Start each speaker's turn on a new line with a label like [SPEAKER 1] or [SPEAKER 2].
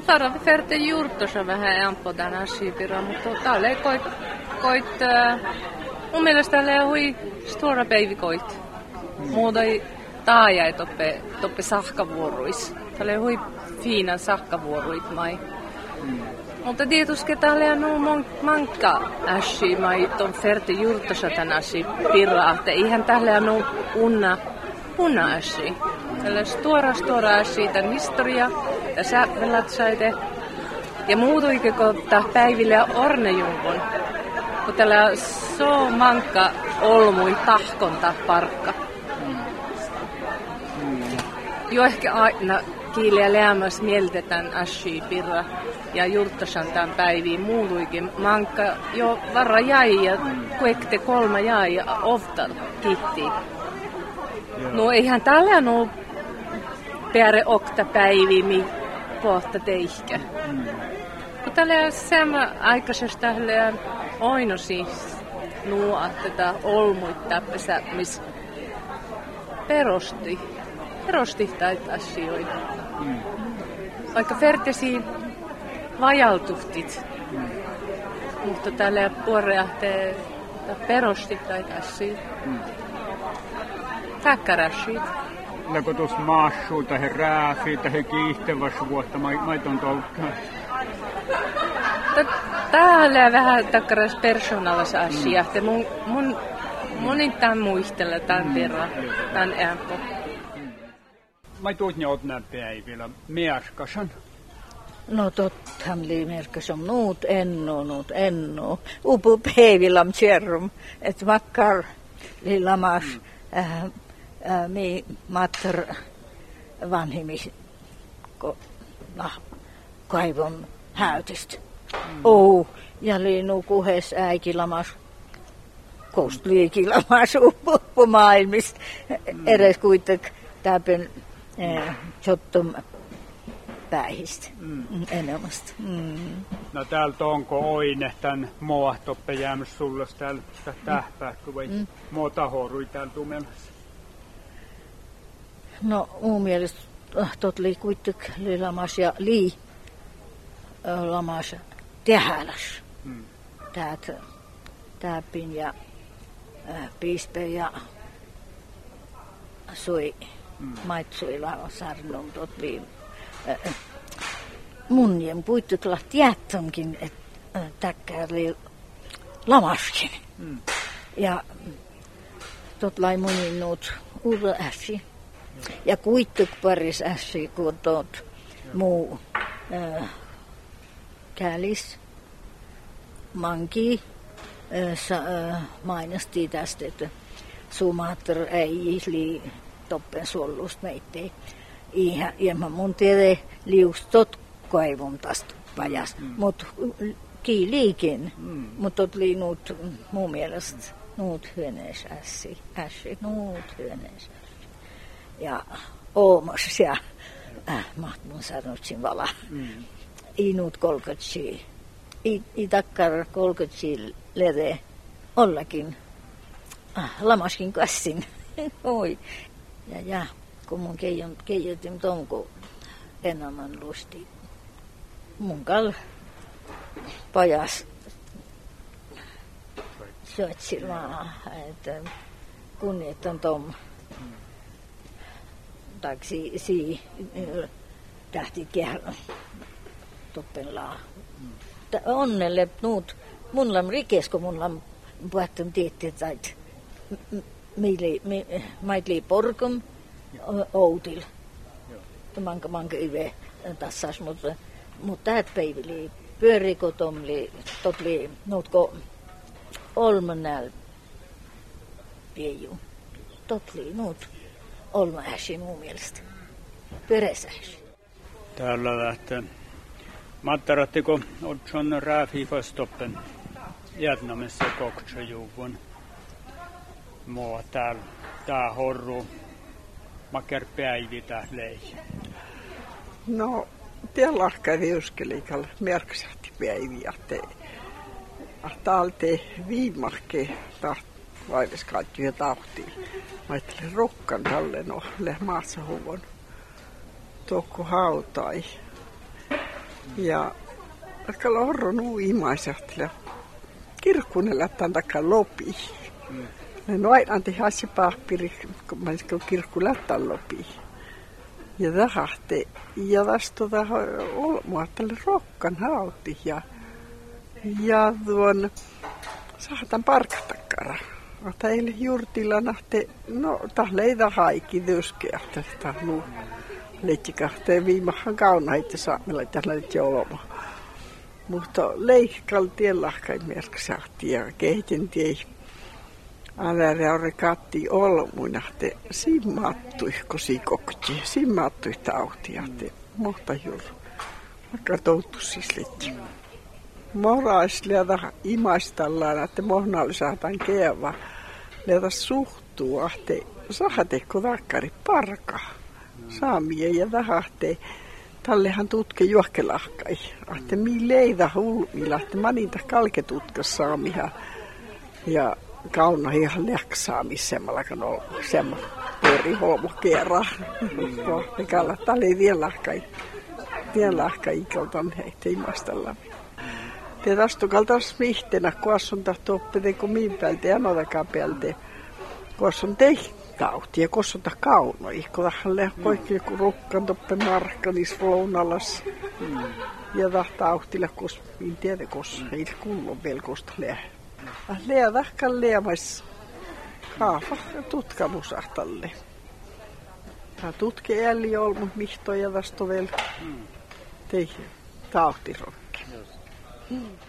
[SPEAKER 1] Tarvi färte juurtossa vähän ampo tänä siipira, mutta täällä ei koit mun mielestä täällä ei hui stora päivikoit. Muuta ei taajai toppe sahkavuoruis. Täällä ei hui fiinan sahkavuoruit mai. Mutta tietysti täällä on mankka äsi mai ton färte juurtossa tänä siipira. Eihän täällä on unna äsi. Täällä on stora äsi tän historia. Tässä velatsaite. Ja muutuikin, kun tämä päivillä ornejumpun. Kun täällä on so mankka olmuin tahkonta parkka. Jo ehkä aina kiiliä lämmäs mieltetään äsi pirra. Ja juurtasan tämän päiviin muutuikin. Mankka jo varra jäi ja kuekte 3 jäi ja oftar kitti. No eihän täällä ole pääre okta päiviä pohta teihkä. Kun täällä sama aikaisesta täällä aina siis nuo tätä olmuita pesä, missä perosti näitä asioita. Vaikka färtesi vajaltuhtit, mutta täällä puoreahtee perosti näitä asioita. Takkarashit.
[SPEAKER 2] Lako tuossa maassuun tai rääfiin tai kiihtävässä vuotta maiton toukkaan?
[SPEAKER 1] Täällä on vähän takkaras persoonallisia asioita. Mun tämän muistella tämän verran, tämän äänpo.
[SPEAKER 2] Mä tuot ne otnää päivillä merkasan.
[SPEAKER 3] No tottahan li merkasan nuut enno. Upu päivillä on tjärrum, että makkar li lamas. Mi matter vanhimis kaivon häytistä. Ja liinu kuhes äikilamas, kostliikilamas uppomaailmista. Edes kuitenkin täpen jottum päihistä enemmästä.
[SPEAKER 2] No täältä onko oine tän moahtoppe jäämässä sulle täällä tähpääkö vai mootahorui täällä tumelassa?
[SPEAKER 3] No mun mielestä tot li kuitenkin lamas ja lamas tehäläs. Täpin ja piispe ja sui maitsui sarnum tot li munjen puittukla tiettonkin, että täkkää li lamaskin. Ja tot lai munin nuut uudella äsi. Ja kuittuk paris äsi, kun tot muu kälis manki mainasti tästä, että Sumatra ei li toppen suollusta meittei. Ja mun tiedä liustot kaivun tästä pajas, mutta kiiliikin. Mutta oli nuut mun mielestä nuut hyöneis äsi, nuut hyöneis. Ja oomos ja mahtun sanotsin vala. I nuut kolkotsi, i takkar kolkotsi lede ollakin lamaskin kassin. Oi. Ja kun mun keijotin tonko enemmän lusti. Mun kal pajas syötsi vaan, että kunnioitan tom. Taksi tähti kehä toppelaa. Onnelle nuut mun lam rikes, kun mun lam puhuttum tietty, että maitli porkum outil. Manka yve tassas, mutta täät päivili pyöriko totli nuutko olman näl pieju. Totli nuut olma äsi mun mielestä. Pyöresäsi.
[SPEAKER 2] Täällä lähtee. Mattarattiko otson rääfifastoppen jätnamessa koktsajuvun. Mua tää horru. Maker päivi tää lei.
[SPEAKER 4] No, tiellä viuskelikalla merksahti päiviä. Täältä viimarkke vaiveskaattu ja tahtiin. Mä ajattelin rukkan tälle no maassa huvon. Tokko hautai. Ja aika lorron uimaisahtele. Kirkkunen lähtään takaa lopi. No aina anti hasi pahpiri, kun mä olisin kirkku lähtään lopi. Ja tahti. Ja tästä olmua tälle rokkan hauti. Ja tuon saatan parkatakkara. Ota eilen juurtilla nähti, no tahle ei haiki työskeä. Tästä on leitsikahteen viimahan kaunaita saamilla tällä jouloma. Mutta leikkaltien lahkai merksaahti ja kehitinti älä katti olmuinahte simmattui kosikokti. Simmattui tautia. Mutta juuri. Vaikka touttu siis leitsi. Moraisliata imaistallaan, että mohnaali saataan keva. Leata suhtuu, että saatekko takkari parka. Saamia ja tahte. Tallehan tutke juokkelahkai. Että mii leida hulmilla, että manita kalketutkas saamiha. Ja kauna ihan läksaamissemmalla, kun on semmoinen pori holmo kerran. Mikällä tali vielä lahkai ikaltan heitä imaistallaan. Te tästä kaltaisi vihteenä, kun asun tahto oppite, kun miin päältä ja anotakaan päältä. Kun asun tauti ja kun asun kaunoi. Kun tähän lehkoikki joku rukkan toppe markka niissä lounalas. Ja tahtaa ahtilla, kun miin tiedä, kun ei kuulun vielä kosta leä. Leä tahkaan leämais kaafa tutkamusahtalle. Tämä tutki älli olmu mihtoja tästä vielä teihin tautirokki.